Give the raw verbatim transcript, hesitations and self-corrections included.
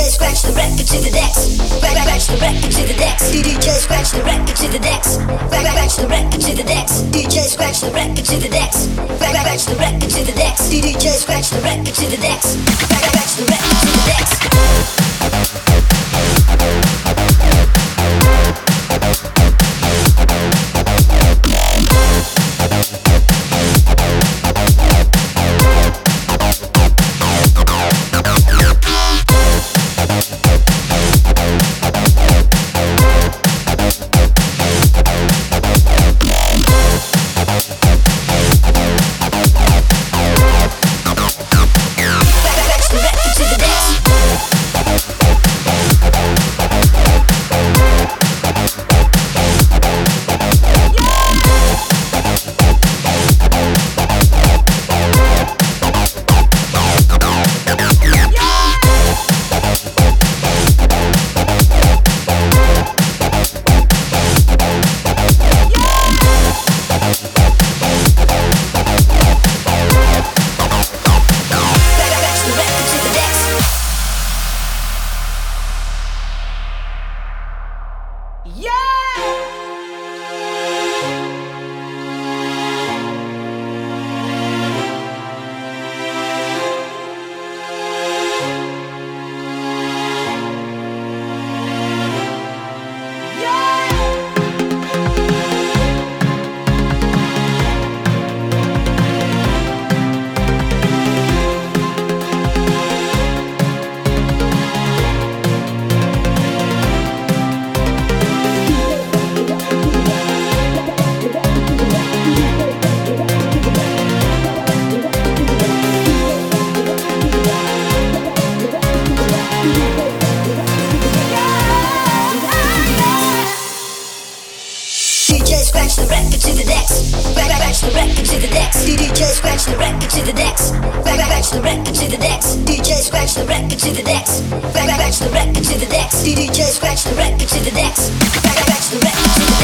scratch the record to the decks. Scratch the record to the decks. D J scratch the record to the decks. Scratch the record to the decks. D J scratch the record to the decks. Scratch the record to the decks. D J scratch the record to the decks. Scratch the record to the decks. Scratch the record to the decks. Scratch the record to the decks. D J scratch the record to the decks. Scratch the record to the decks. D J scratch the record to the decks. Scratch the record to the decks. D J scratch the record to the decks. Scratch the record to the decks.